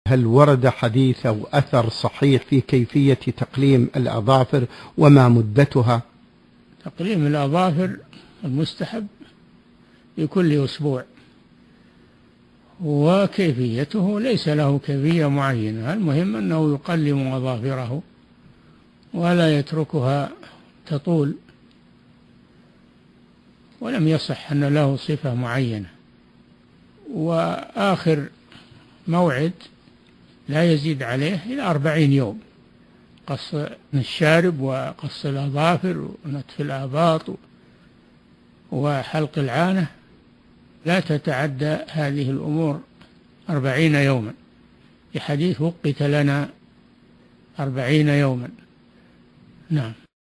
هل ورد حديث أو أثر صحيح في كيفية تقليم الأظافر وما مدتها؟ تقليم الأظافر المستحب في كل أسبوع، وكيفيته ليس له كيفية معينة، المهم أنه يقلم أظافره ولا يتركها تطول، ولم يصح أن له صفة معينة. وآخر موعد لا يزيد عليه إلى 40 يوم، قص الشارب وقص الأظافر ونتف الآباط وحلق العانة لا تتعدى هذه الأمور 40 يوما، في حديث وقت لنا 40 يوما. نعم.